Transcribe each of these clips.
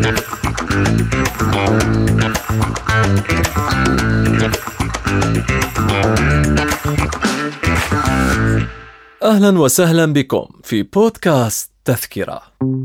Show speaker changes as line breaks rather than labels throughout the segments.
أهلا وسهلا بكم في بودكاست تذكرة.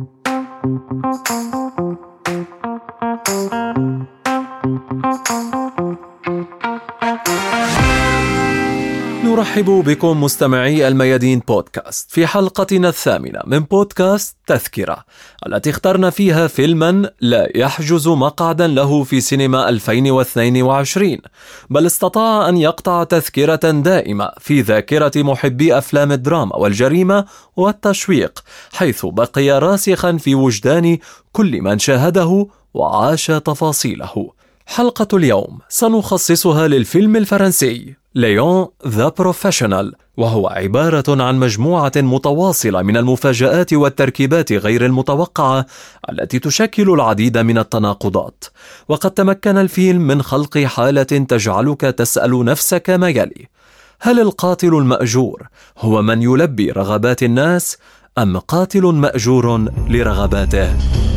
نرحب بكم مستمعي الميادين بودكاست في حلقتنا الثامنة من بودكاست تذكرة، التي اخترنا فيها فيلما لا يحجز مقعدا له في سينما 2022، بل استطاع أن يقطع تذكرة دائمة في ذاكرة محبي أفلام الدراما والجريمة والتشويق، حيث بقي راسخا في وجدان كل من شاهده وعاش تفاصيله. حلقة اليوم سنخصصها للفيلم الفرنسي ليون ذا بروفيشنال، وهو عبارة عن مجموعة متواصلة من المفاجآت والتركيبات غير المتوقعة التي تشكل العديد من التناقضات. وقد تمكن الفيلم من خلق حالة تجعلك تسأل نفسك ما يلي: هل القاتل المأجور هو من يلبي رغبات الناس، أم قاتل مأجور لرغباته؟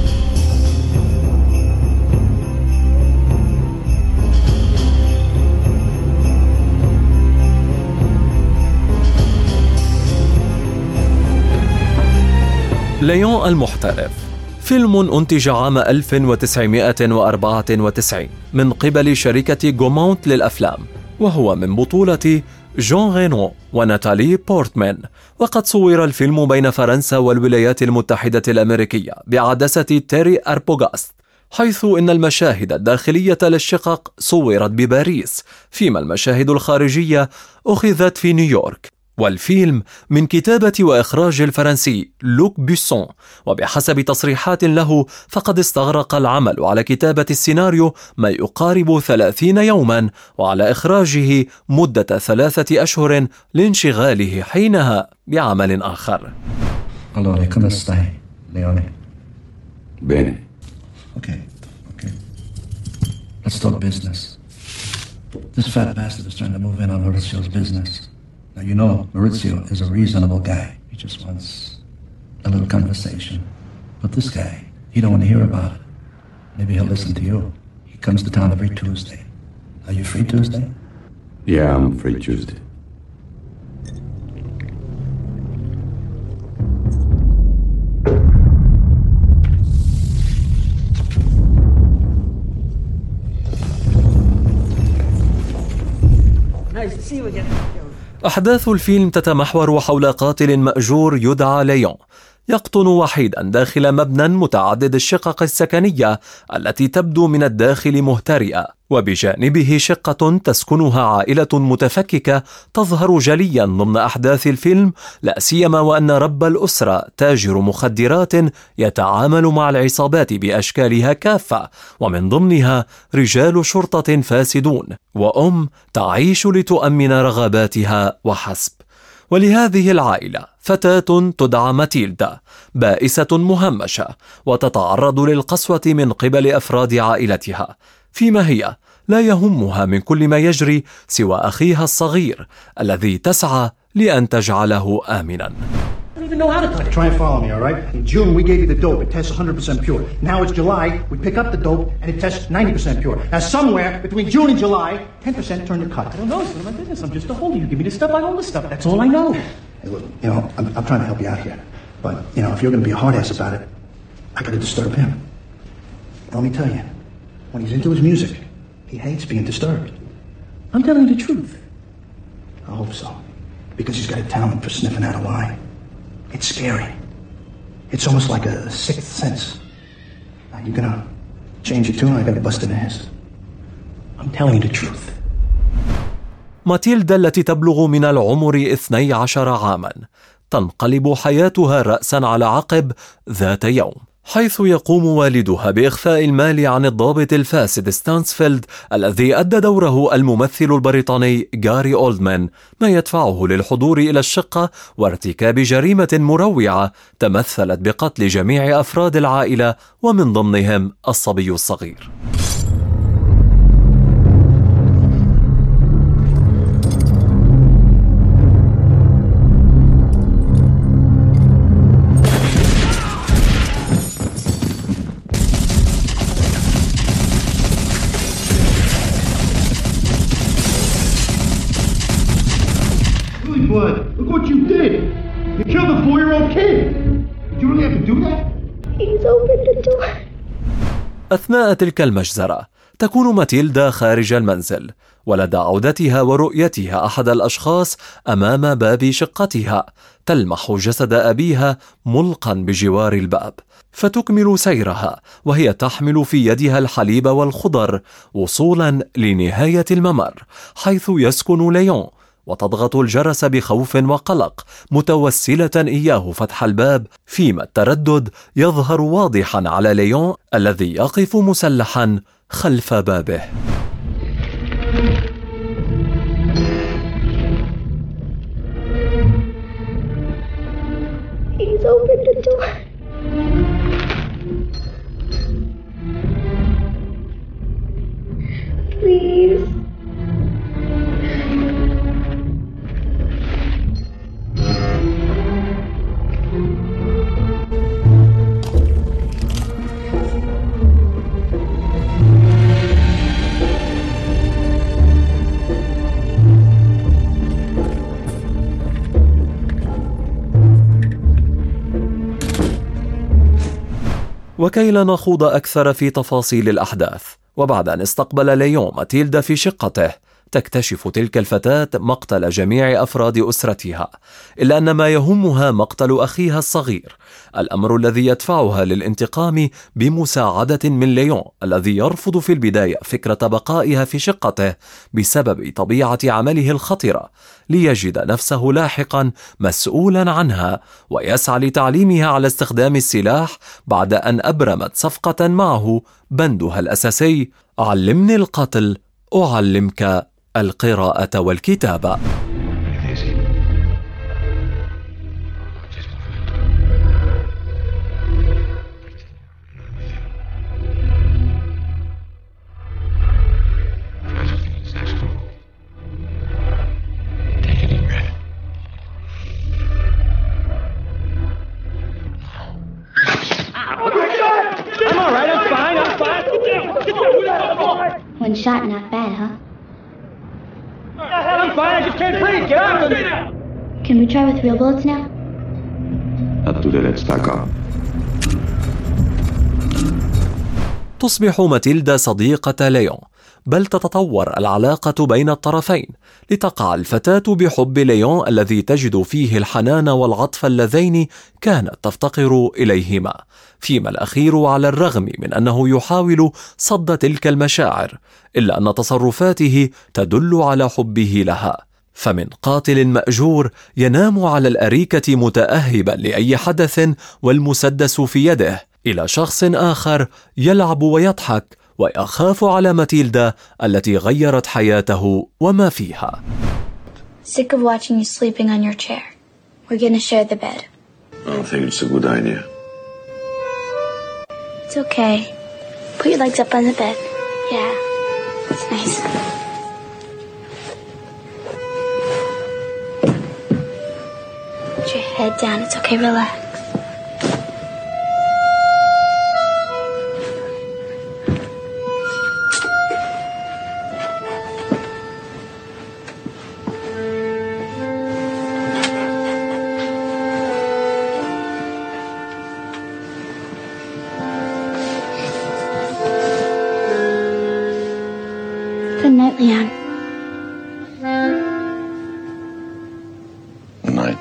ليون المحترف فيلم أنتج عام 1994 من قبل شركة غومونت للأفلام، وهو من بطولة جون رينو وناتالي بورتمان. وقد صور الفيلم بين فرنسا والولايات المتحدة الأمريكية بعدسة تيري أربوغاست، حيث إن المشاهد الداخلية للشقق صورت بباريس، فيما المشاهد الخارجية أخذت في نيويورك. والفيلم من كتابة وإخراج الفرنسي لوك بيسون، وبحسب تصريحات له فقد استغرق العمل على كتابة السيناريو ما يقارب 30 يوما، وعلى إخراجه مدة 3 أشهر لانشغاله حينها بعمل آخر.
Allora, come stai, Leone?
Bene.
Okay. Let's talk business. This fat bastard is trying to move in on Maurizio's business. Now, you know Maurizio is a reasonable guy. He just wants a little conversation. But this guy, he don't want to hear about it. Maybe he'll listen to you. He comes to town every Tuesday. Are you free Tuesday?
Yeah, I'm free Tuesday.
Nice to see you again.
أحداث الفيلم تتمحور حول قاتل مأجور يدعى ليون، يقطن وحيدا داخل مبنى متعدد الشقق السكنية التي تبدو من الداخل مهترئة، وبجانبه شقة تسكنها عائلة متفككة تظهر جليا ضمن أحداث الفيلم، لا سيما وأن رب الأسرة تاجر مخدرات يتعامل مع العصابات بأشكالها كافة، ومن ضمنها رجال شرطة فاسدون، وأم تعيش لتؤمن رغباتها وحسب. ولهذه العائلة فتاة تدعى ماتيلدا، بائسة مهمشة وتتعرض للقسوة من قبل أفراد عائلتها، فيما هي لا يهمها من كل ما يجري سوى أخيها الصغير الذي تسعى لأن تجعله آمنا.
I don't even know how to touch it.
Try and follow me, all right? In June, we gave you the dope. It tests 100% pure. Now it's July. We pick up the dope, and it tests 90% pure. Now, somewhere between June and July, 10% turn to cut.
I don't know. It's none of my business. I'm just a holder. You give me the stuff, I hold the stuff. That's all I know.
Hey, look, I'm trying to help you out here. But, if you're going to be a hard ass about it, I got to disturb him. Let me tell you, when he's into his music, he hates being disturbed.
I'm telling you the truth.
I hope so. Because he's got a talent for sniffing out a lie. It's scary. It's almost like a sixth sense. Now, you're gonna change your tune, I gotta bust in his.
I'm telling you the truth.
ماتيلدا التي تبلغ من العمر 12 عاما تنقلب حياتها رأسا على عقب ذات يوم، حيث يقوم والدها بإخفاء المال عن الضابط الفاسد ستانسفيلد الذي أدى دوره الممثل البريطاني غاري أولدمان، ما يدفعه للحضور إلى الشقة وارتكاب جريمة مروعة تمثلت بقتل جميع أفراد العائلة ومن ضمنهم الصبي الصغير.
He's opened the door.
أثناء تلك المجزرة تكون ماتيلدا خارج المنزل، ولدى عودتها ورؤيتها أحد الأشخاص أمام باب شقتها تلمح جسد أبيها ملقا بجوار الباب، فتكمل سيرها وهي تحمل في يدها الحليب والخضر وصولا لنهاية الممر حيث يسكن ليون، وتضغط الجرس بخوف وقلق متوسلة إياه فتح الباب، فيما التردد يظهر واضحا على ليون الذي يقف مسلحا خلف بابه.
He's opened the door. Please.
وكي لا نخوض أكثر في تفاصيل الأحداث، وبعد أن استقبل ليون ماتيلدا في شقته، تكتشف تلك الفتاة مقتل جميع أفراد أسرتها، إلا أن ما يهمها مقتل أخيها الصغير، الأمر الذي يدفعها للانتقام بمساعدة من ليون الذي يرفض في البداية فكرة بقائها في شقته بسبب طبيعة عمله الخطرة، ليجد نفسه لاحقا مسؤولا عنها ويسعى لتعليمها على استخدام السلاح بعد أن أبرمت صفقة معه بندها الأساسي: علمني القتل أعلمك القراءة والكتابة.
One shot, not bad, huh?
I'm fine, I just can't breathe. Get out of me!
Can we try with real bullets now?
Up to the red stack up.
تصبح ماتيلدا صديقة ليون، بل تتطور العلاقة بين الطرفين لتقع الفتاة بحب ليون الذي تجد فيه الحنان والعطف اللذين كانت تفتقر إليهما، فيما الأخير على الرغم من أنه يحاول صد تلك المشاعر إلا أن تصرفاته تدل على حبه لها، فمن قاتل مأجور ينام على الأريكة متأهبا لأي حدث والمسدس في يده، إلى شخص آخر يلعب ويضحك ويخاف على ماتيلدا التي غيرت حياته وما فيها.
Sick of watching you sleeping on your chair. We're gonna share the bed.
I don't think it's a good idea.
It's okay. Put your legs up on the bed. Yeah, it's nice. Put your head down. It's okay. Relax. Good night, Leon.
Good night.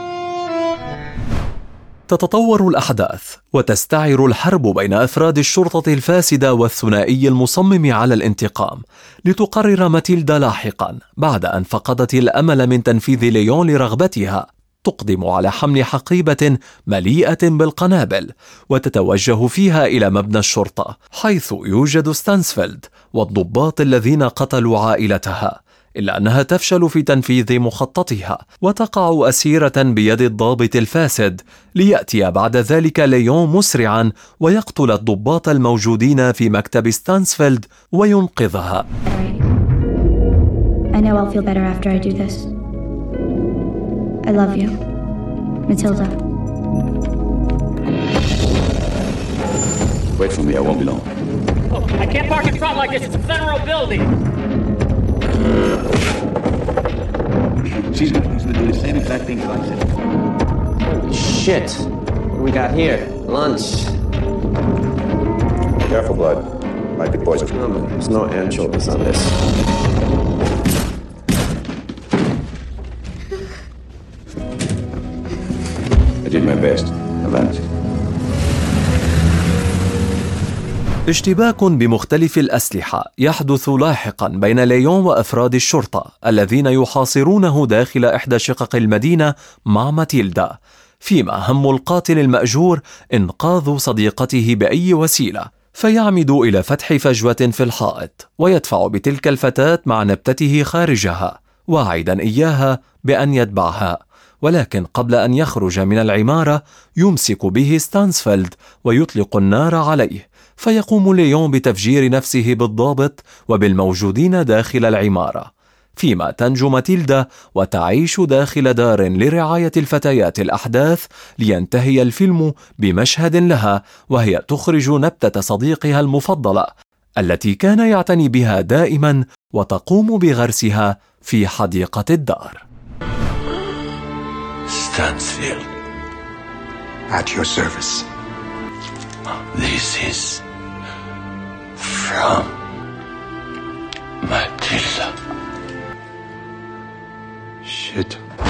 تتطور الأحداث وتستعر الحرب بين أفراد الشرطة الفاسدة والثنائي المصمم على الانتقام، لتقرر ماتيلدا لاحقا بعد أن فقدت الأمل من تنفيذ ليون لرغبتها تقدم على حمل حقيبة مليئة بالقنابل وتتوجه فيها إلى مبنى الشرطة حيث يوجد ستانسفيلد والضباط الذين قتلوا عائلتها، إلا أنها تفشل في تنفيذ مخططها وتقع أسيرة بيد الضابط الفاسد، ليأتي بعد ذلك ليون مسرعا ويقتل الضباط الموجودين في مكتب ستانسفيلد وينقذها.
I know I'll feel better after I do this. I love you, Matilda.
Wait for me, I won't be long.
Oh, I can't park in front like this. It's a federal building.
She's going to do the same exact thing that I said.
Shit. What do we got here? Lunch.
Careful, Blood. Might be poison. There's no anchovies on this. I did my best. Avance.
اشتباك بمختلف الأسلحة يحدث لاحقا بين ليون وأفراد الشرطة الذين يحاصرونه داخل إحدى شقق المدينة مع ماتيلدا، فيما هم القاتل المأجور إنقاذ صديقته بأي وسيلة، فيعمد إلى فتح فجوة في الحائط ويدفع بتلك الفتاة مع نبتته خارجها، واعدا إياها بأن يتبعها. ولكن قبل أن يخرج من العمارة يمسك به ستانسفيلد ويطلق النار عليه، فيقوم ليون بتفجير نفسه بالضابط وبالموجودين داخل العمارة، فيما تنجو ماتيلدا وتعيش داخل دار لرعاية الفتيات الأحداث، لينتهي الفيلم بمشهد لها وهي تخرج نبتة صديقها المفضلة التي كان يعتني بها دائما وتقوم بغرسها في حديقة الدار.
Stansfield.
At your service.
This is from Matilda.
Shit.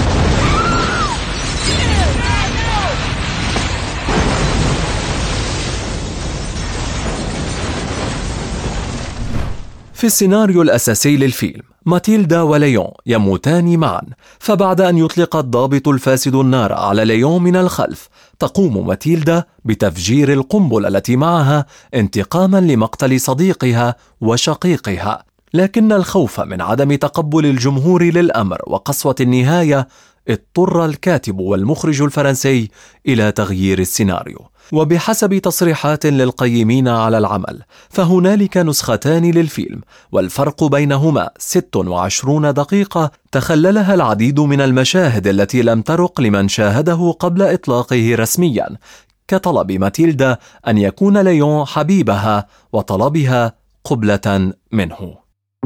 في السيناريو الأساسي للفيلم ماتيلدا وليون يموتان معا، فبعد أن يطلق الضابط الفاسد النار على ليون من الخلف تقوم ماتيلدا بتفجير القنبلة التي معها انتقاما لمقتل صديقها وشقيقها، لكن الخوف من عدم تقبل الجمهور للأمر وقسوة النهاية اضطر الكاتب والمخرج الفرنسي إلى تغيير السيناريو. وبحسب تصريحات للقيمين على العمل فهنالك نسختان للفيلم، والفرق بينهما 26 دقيقة تخللها العديد من المشاهد التي لم ترق لمن شاهده قبل إطلاقه رسميا، كطلب ماتيلدا أن يكون ليون حبيبها وطلبها قبلة منه.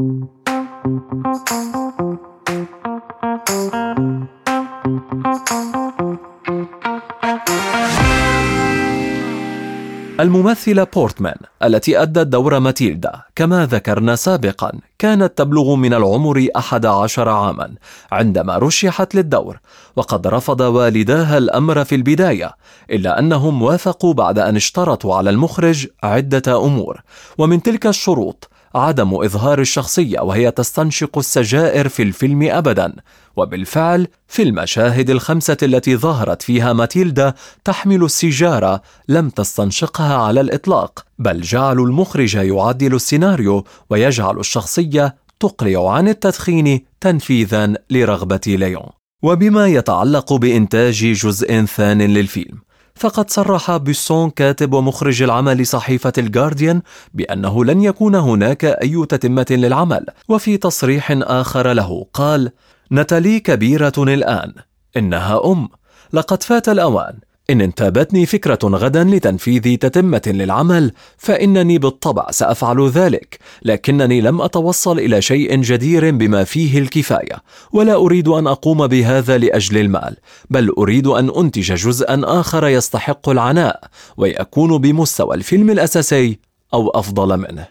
الممثلة بورتمان التي أدت دور ماتيلدا كما ذكرنا سابقا كانت تبلغ من العمر 11 عاما عندما رشحت للدور، وقد رفض والداها الأمر في البداية، إلا أنهم وافقوا بعد أن اشترطوا على المخرج عدة أمور، ومن تلك الشروط عدم إظهار الشخصية وهي تستنشق السجائر في الفيلم أبدا. وبالفعل في المشاهد الخمسة التي ظهرت فيها ماتيلدا تحمل السيجارة لم تستنشقها على الإطلاق، بل جعلوا المخرج يعدل السيناريو ويجعل الشخصية تقلع عن التدخين تنفيذا لرغبة ليون. وبما يتعلق بإنتاج جزء ثان للفيلم فقد صرح بوسون كاتب ومخرج العمل صحيفة الجارديان بأنه لن يكون هناك أي تتمة للعمل، وفي تصريح آخر له قال: ناتالي كبيرة الآن، إنها لقد فات الأوان، إن انتابتني فكرة غدا لتنفيذ تتمة للعمل فإنني بالطبع سأفعل ذلك، لكنني لم أتوصل إلى شيء جدير بما فيه الكفاية، ولا أريد أن أقوم بهذا لأجل المال، بل أريد أن أنتج جزءا آخر يستحق العناء ويكون بمستوى الفيلم الأساسي أو أفضل منه.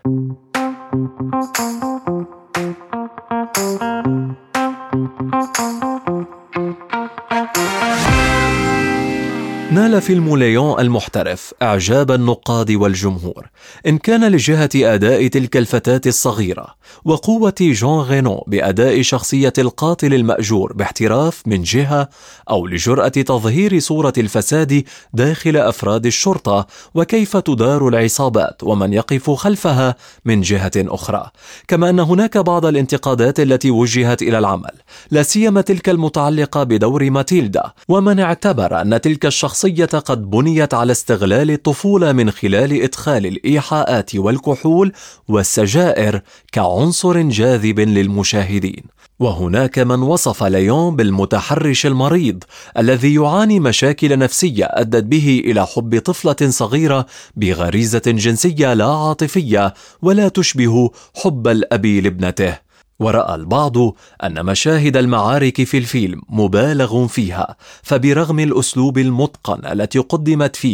نال فيلم ليون المحترف إعجاب النقاد والجمهور، إن كان لجهة أداء تلك الفتاة الصغيرة وقوة جون غينو بأداء شخصية القاتل المأجور باحتراف من جهة، أو لجرأة تظهير صورة الفساد داخل أفراد الشرطة وكيف تدار العصابات ومن يقف خلفها من جهة أخرى. كما أن هناك بعض الانتقادات التي وجهت إلى العمل، لا سيما تلك المتعلقة بدور ماتيلدا، ومن اعتبر أن تلك الشخصية قد بنيت على استغلال الطفولة من خلال إدخال الإيحاءات والكحول والسجائر كعنصر جاذب للمشاهدين. وهناك من وصف ليون بالمتحرش المريض الذي يعاني مشاكل نفسية أدت به إلى حب طفلة صغيرة بغريزة جنسية لا عاطفية ولا تشبه حب الأب لابنته. ورأى البعض أن مشاهد المعارك في الفيلم مبالغ فيها، فبرغم الأسلوب المتقن التي قدمت فيه،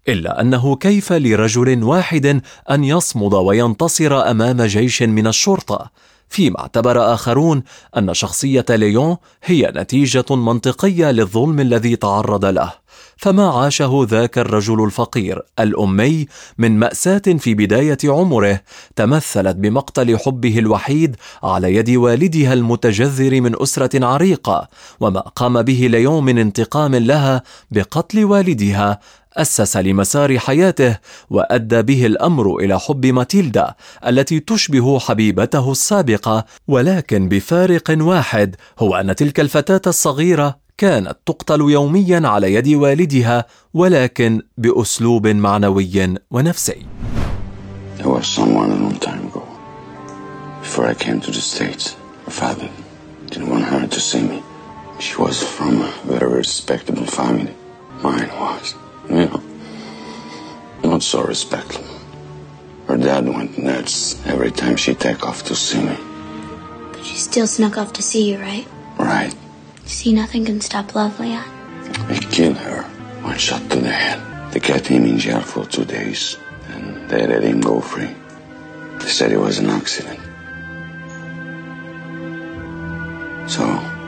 إلا أنه كيف لرجل واحد أن يصمد وينتصر أمام جيش من الشرطة؟ فيما اعتبر آخرون أن شخصية ليون هي نتيجة منطقية للظلم الذي تعرض له. فما عاشه ذاك الرجل الفقير الأمي من مأساة في بداية عمره تمثلت بمقتل حبه الوحيد على يد والدها المتجذر من أسرة عريقة، وما قام به ليون من انتقام لها بقتل والدها أسس لمسار حياته وأدى به الأمر إلى حب ماتيلدا التي تشبه حبيبته السابقة، ولكن بفارق واحد، هو أن تلك الفتاة الصغيرة كانت تقتل يوميا على يد والدها، ولكن بأسلوب معنوي ونفسي.
There was someone a long time ago. Before I came to the States, her father didn't want her to see me. She was from a very respectable family. Mine was, not so respectable. Her dad went nuts every time she take off to see me.
But she still snuck off to see you, right?
Right.
See, nothing can stop love, Leon.
They killed her. One shot to the head. They kept him in jail for 2 days. And they let him go free. They said it was an accident. So,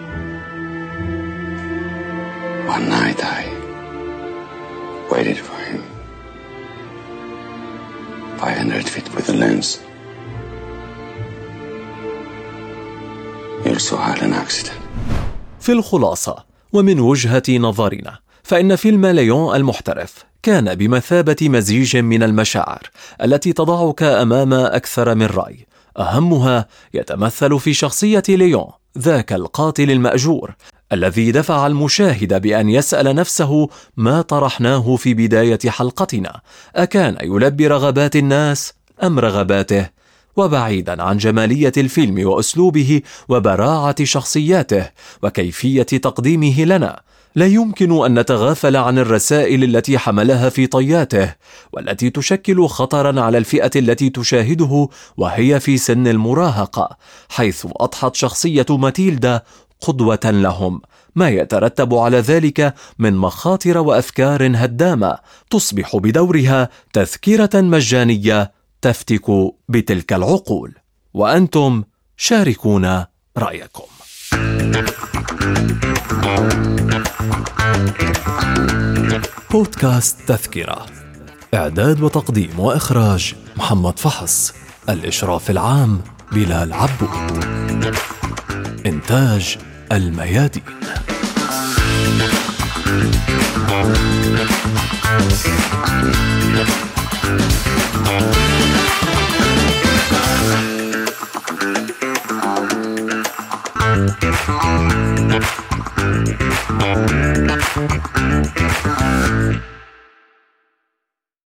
one night I waited for him. 500 feet with a lens. He also had an accident.
في الخلاصة ومن وجهة نظرنا، فإن فيلم ليون المحترف كان بمثابة مزيج من المشاعر التي تضعك أمام أكثر من رأي. أهمها يتمثل في شخصية ليون، ذاك القاتل المأجور الذي دفع المشاهد بأن يسأل نفسه ما طرحناه في بداية حلقتنا: أكان يلبي رغبات الناس أم رغباته؟ وبعيدا عن جمالية الفيلم وأسلوبه وبراعة شخصياته وكيفية تقديمه لنا، لا يمكن أن نتغافل عن الرسائل التي حملها في طياته، والتي تشكل خطرا على الفئة التي تشاهده وهي في سن المراهقة، حيث أضحت شخصية ماتيلدا قدوة لهم، ما يترتب على ذلك من مخاطر وأفكار هدامة تصبح بدورها تذكرة مجانية تفتك بتلك العقول. وأنتم شاركونا رأيكم. بودكاست تذكرة، إعداد وتقديم وإخراج محمد فحص، الإشراف العام بلال عبود، إنتاج الميادين.
Thank you.